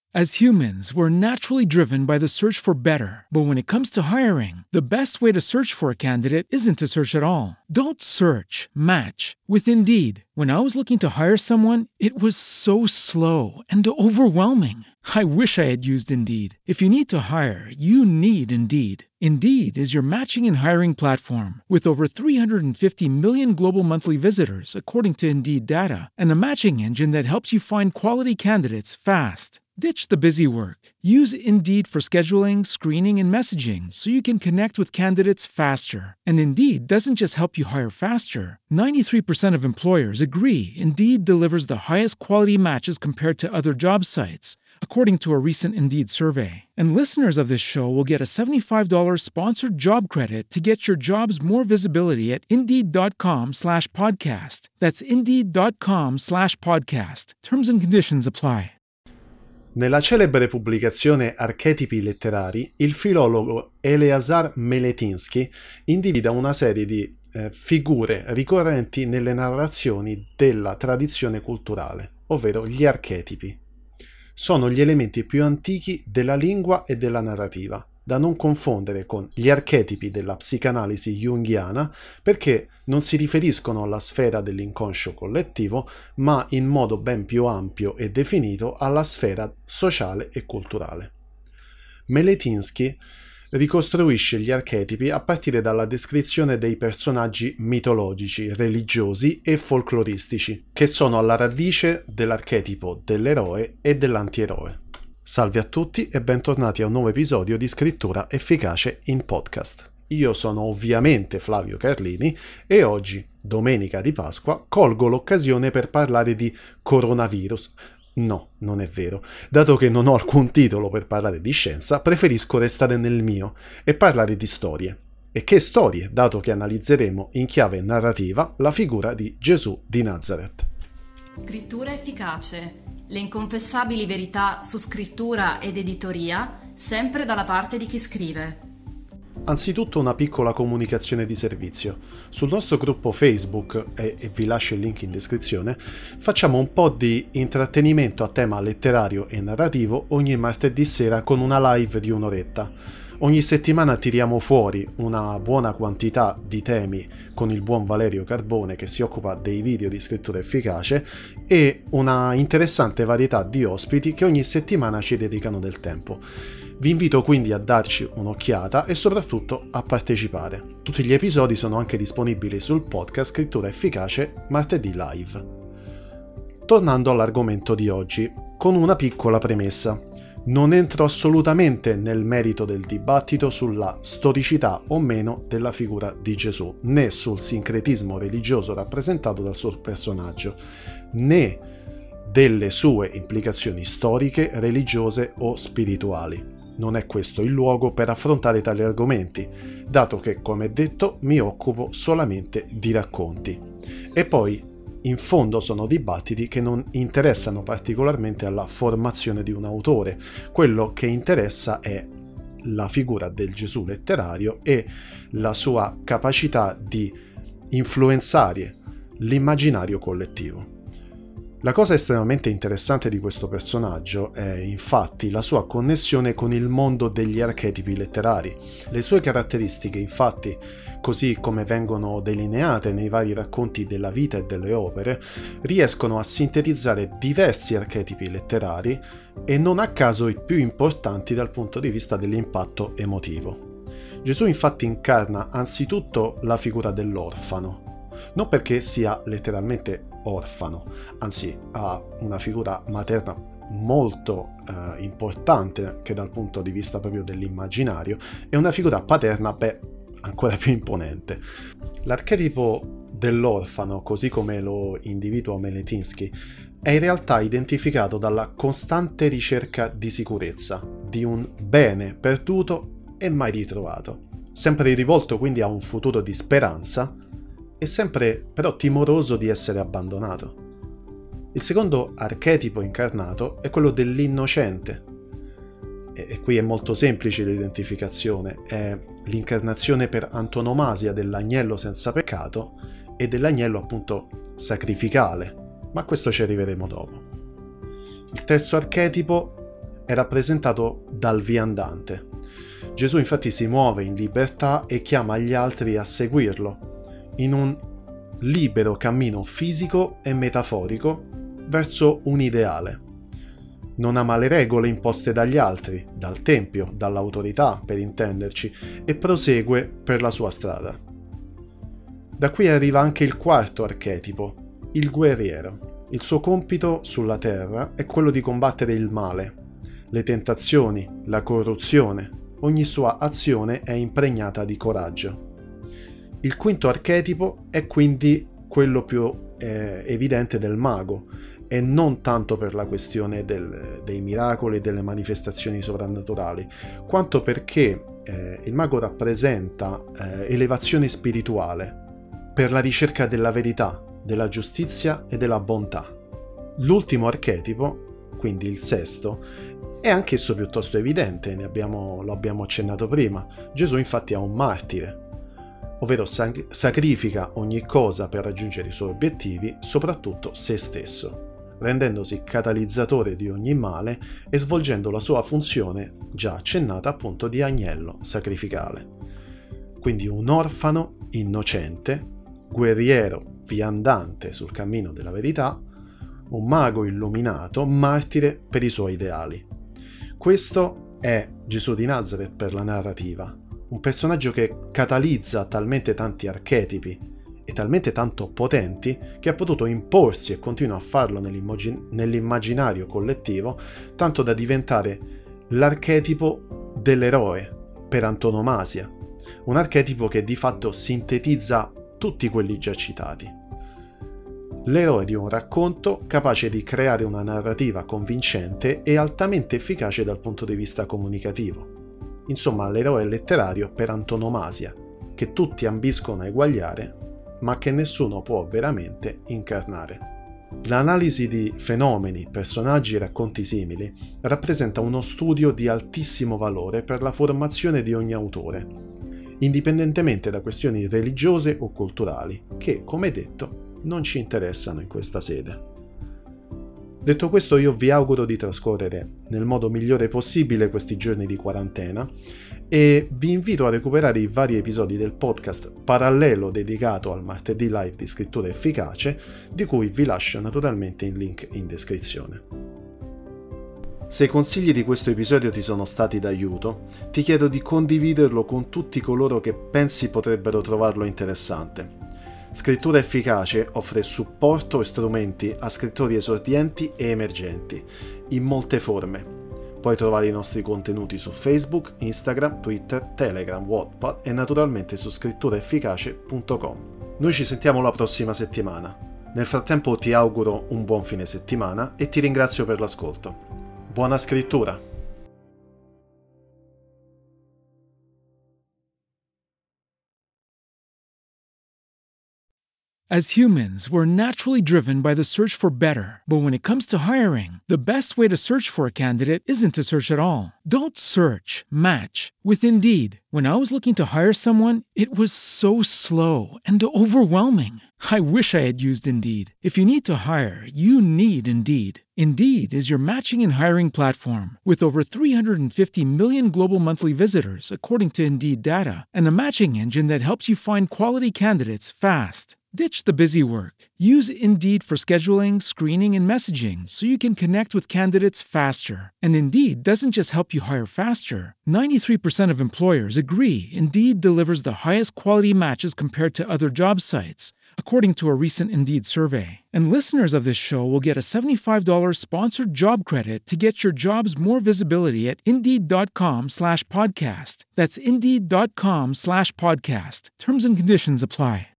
As humans, we're naturally driven by the search for better. But when it comes to hiring, the best way to search for a candidate isn't to search at all. Don't search, match with Indeed. When I was looking to hire someone, it was so slow and overwhelming. I wish I had used Indeed. If you need to hire, you need Indeed. Indeed is your matching and hiring platform with over 350 million global monthly visitors, according to Indeed data, and a matching engine that helps you find quality candidates fast. Ditch the busy work. Use Indeed for scheduling, screening, and messaging so you can connect with candidates faster. And Indeed doesn't just help you hire faster. 93% of employers agree Indeed delivers the highest quality matches compared to other job sites, according to a recent Indeed survey. And listeners of this show will get a $75 sponsored job credit to get your jobs more visibility at Indeed.com/podcast. That's Indeed.com/podcast. Terms and conditions apply. Nella celebre pubblicazione Archetipi letterari, il filologo Eleazar Meletinsky individua una serie di figure ricorrenti nelle narrazioni della tradizione culturale, ovvero gli archetipi. Sono gli elementi più antichi della lingua e della narrativa, da non confondere con gli archetipi della psicanalisi junghiana, perché non si riferiscono alla sfera dell'inconscio collettivo, ma in modo ben più ampio e definito alla sfera sociale e culturale. Meletinsky ricostruisce gli archetipi a partire dalla descrizione dei personaggi mitologici, religiosi e folcloristici, che sono alla radice dell'archetipo dell'eroe e dell'antieroe. Salve a tutti e bentornati a un nuovo episodio di Scrittura Efficace in Podcast. Io sono ovviamente Flavio Carlini e oggi, domenica di Pasqua, colgo l'occasione per parlare di coronavirus. No, non è vero. Dato che non ho alcun titolo per parlare di scienza, preferisco restare nel mio e parlare di storie. E che storie, dato che analizzeremo in chiave narrativa la figura di Gesù di Nazareth. Scrittura Efficace. Le inconfessabili verità su scrittura ed editoria, sempre dalla parte di chi scrive. Anzitutto una piccola comunicazione di servizio. Sul nostro gruppo Facebook, e vi lascio il link in descrizione, facciamo un po' di intrattenimento a tema letterario e narrativo ogni martedì sera con una live di un'oretta. Ogni settimana tiriamo fuori una buona quantità di temi con il buon Valerio Carbone che si occupa dei video di scrittura efficace e una interessante varietà di ospiti che ogni settimana ci dedicano del tempo. Vi invito quindi a darci un'occhiata e soprattutto a partecipare. Tutti gli episodi sono anche disponibili sul podcast Scrittura Efficace martedì live. Tornando all'argomento di oggi, con una piccola premessa. Non entro assolutamente nel merito del dibattito sulla storicità o meno della figura di Gesù, né sul sincretismo religioso rappresentato dal suo personaggio, né delle sue implicazioni storiche, religiose o spirituali. Non è questo il luogo per affrontare tali argomenti, dato che, come detto, mi occupo solamente di racconti. E poi, in fondo sono dibattiti che non interessano particolarmente alla formazione di un autore. Quello che interessa è la figura del Gesù letterario e la sua capacità di influenzare l'immaginario collettivo. La cosa estremamente interessante di questo personaggio è infatti la sua connessione con il mondo degli archetipi letterari. Le sue caratteristiche, infatti, così come vengono delineate nei vari racconti della vita e delle opere, riescono a sintetizzare diversi archetipi letterari e non a caso i più importanti dal punto di vista dell'impatto emotivo. Gesù infatti incarna anzitutto la figura dell'orfano, non perché sia letteralmente orfano, anzi ha una figura materna molto importante che dal punto di vista proprio dell'immaginario e una figura paterna ancora più imponente. L'archetipo dell'orfano, così come lo individua Meletinsky, è in realtà identificato dalla costante ricerca di sicurezza, di un bene perduto e mai ritrovato, sempre rivolto quindi a un futuro di speranza e sempre però timoroso di essere abbandonato. Il secondo archetipo incarnato è quello dell'innocente, e qui è molto semplice l'identificazione, è l'incarnazione per antonomasia dell'agnello senza peccato e dell'agnello appunto sacrificale, ma a questo ci arriveremo dopo. Il terzo archetipo è rappresentato dal viandante. Gesù infatti si muove in libertà e chiama gli altri a seguirlo, in un libero cammino fisico e metaforico verso un ideale. Non ama le regole imposte dagli altri, dal tempio, dall'autorità per intenderci, e prosegue per la sua strada. Da qui arriva anche il quarto archetipo, il guerriero. Il suo compito sulla terra è quello di combattere il male, le tentazioni, la corruzione. Ogni sua azione è impregnata di coraggio. Il quinto archetipo è quindi quello più evidente del mago, e non tanto per la questione dei miracoli e delle manifestazioni sovrannaturali, quanto perché il mago rappresenta elevazione spirituale per la ricerca della verità, della giustizia e della bontà. L'ultimo archetipo, quindi il sesto, è anch'esso piuttosto evidente, lo abbiamo accennato prima. Gesù infatti è un martire, ovvero sacrifica ogni cosa per raggiungere i suoi obiettivi, soprattutto se stesso, rendendosi catalizzatore di ogni male e svolgendo la sua funzione già accennata appunto di agnello sacrificale. Quindi un orfano innocente, guerriero viandante sul cammino della verità, un mago illuminato, martire per i suoi ideali. Questo è Gesù di Nazareth per la narrativa, un personaggio che catalizza talmente tanti archetipi e talmente tanto potenti che ha potuto imporsi e continua a farlo nell'immaginario collettivo, tanto da diventare l'archetipo dell'eroe per antonomasia, un archetipo che di fatto sintetizza tutti quelli già citati. L'eroe di un racconto capace di creare una narrativa convincente e altamente efficace dal punto di vista comunicativo. Insomma, l'eroe letterario per antonomasia, che tutti ambiscono a eguagliare, ma che nessuno può veramente incarnare. L'analisi di fenomeni, personaggi e racconti simili rappresenta uno studio di altissimo valore per la formazione di ogni autore, indipendentemente da questioni religiose o culturali, che, come detto, non ci interessano in questa sede. Detto questo, io vi auguro di trascorrere nel modo migliore possibile questi giorni di quarantena e vi invito a recuperare i vari episodi del podcast parallelo dedicato al martedì live di scrittura efficace, di cui vi lascio naturalmente il link in descrizione. Se i consigli di questo episodio ti sono stati d'aiuto, ti chiedo di condividerlo con tutti coloro che pensi potrebbero trovarlo interessante. Scrittura Efficace offre supporto e strumenti a scrittori esordienti e emergenti, in molte forme. Puoi trovare i nostri contenuti su Facebook, Instagram, Twitter, Telegram, Wattpad e naturalmente su scritturaefficace.com. Noi ci sentiamo la prossima settimana. Nel frattempo ti auguro un buon fine settimana e ti ringrazio per l'ascolto. Buona scrittura! As humans, we're naturally driven by the search for better. But when it comes to hiring, the best way to search for a candidate isn't to search at all. Don't search, match with Indeed. When I was looking to hire someone, it was so slow and overwhelming. I wish I had used Indeed. If you need to hire, you need Indeed. Indeed is your matching and hiring platform with over 350 million global monthly visitors, according to Indeed data, and a matching engine that helps you find quality candidates fast. Ditch the busy work. Use Indeed for scheduling, screening, and messaging so you can connect with candidates faster. And Indeed doesn't just help you hire faster. 93% of employers agree Indeed delivers the highest quality matches compared to other job sites, according to a recent Indeed survey. And listeners of this show will get a $75 sponsored job credit to get your jobs more visibility at Indeed.com/podcast. That's Indeed.com/podcast. Terms and conditions apply.